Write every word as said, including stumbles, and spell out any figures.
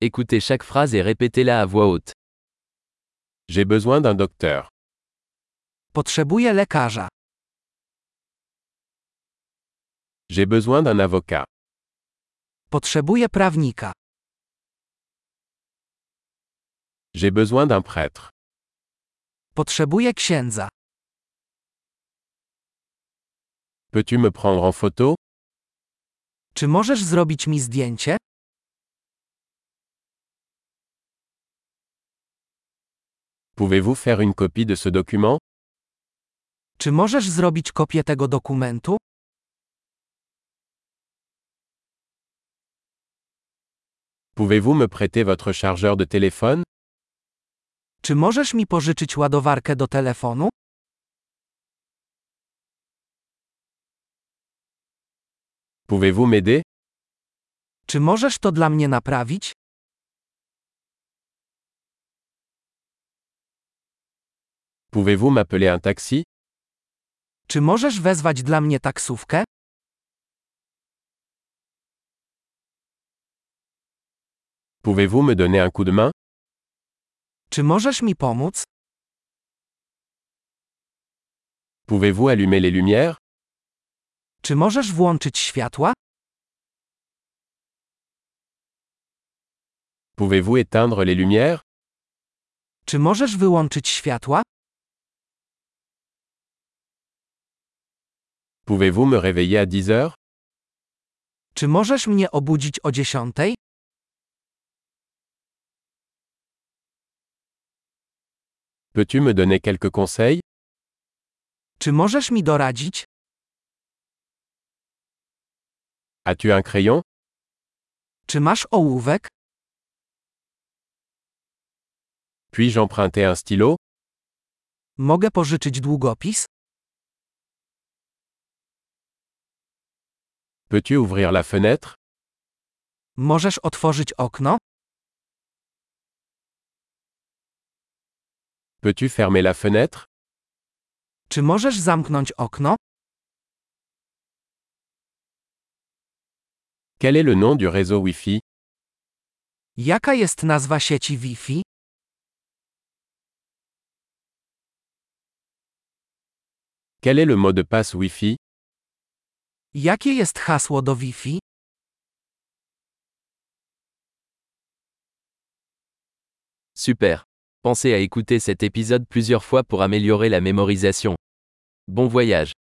Écoutez chaque phrase et répétez-la à voix haute. J'ai besoin d'un docteur. Potrzebuję lekarza. J'ai besoin d'un avocat. Potrzebuję prawnika. J'ai besoin d'un prêtre. Potrzebuję księdza. Peux-tu me prendre en photo? Czy możesz zrobić mi zdjęcie? Pouvez-vous faire une copie de ce document? Czy możesz zrobić kopię tego dokumentu? Pouvez-vous me prêter votre chargeur de téléphone? Czy możesz mi pożyczyć ładowarkę do telefonu? Pouvez-vous m'aider? Czy możesz to dla mnie naprawić? Pouvez-vous m'appeler un taxi? Czy możesz wezwać dla mnie taksówkę? Pouvez-vous me donner un coup de main? Czy możesz mi pomóc? Pouvez-vous allumer les lumières? Czy możesz włączyć światła? Pouvez-vous éteindre les lumières? Czy możesz wyłączyć światła? Pouvez-vous me réveiller à dix heures? Czy możesz mnie obudzić o dziesiątej? Peux-tu me donner quelques conseils? Czy możesz mi doradzić? As-tu un crayon? Czy masz ołówek? Puis-je emprunter un stylo? Mogę pożyczyć długopis? Peux-tu ouvrir la fenêtre? Możesz otworzyć okno? Peux-tu fermer la fenêtre? Czy możesz zamknąć okno? Quel est le nom du réseau Wi-Fi? Jaka jest nazwa sieci Wi-Fi? Quel est le mot de passe Wi-Fi? Jakie jest hasło do Wi-Fi? Super. Pensez à écouter cet épisode plusieurs fois pour améliorer la mémorisation. Bon voyage.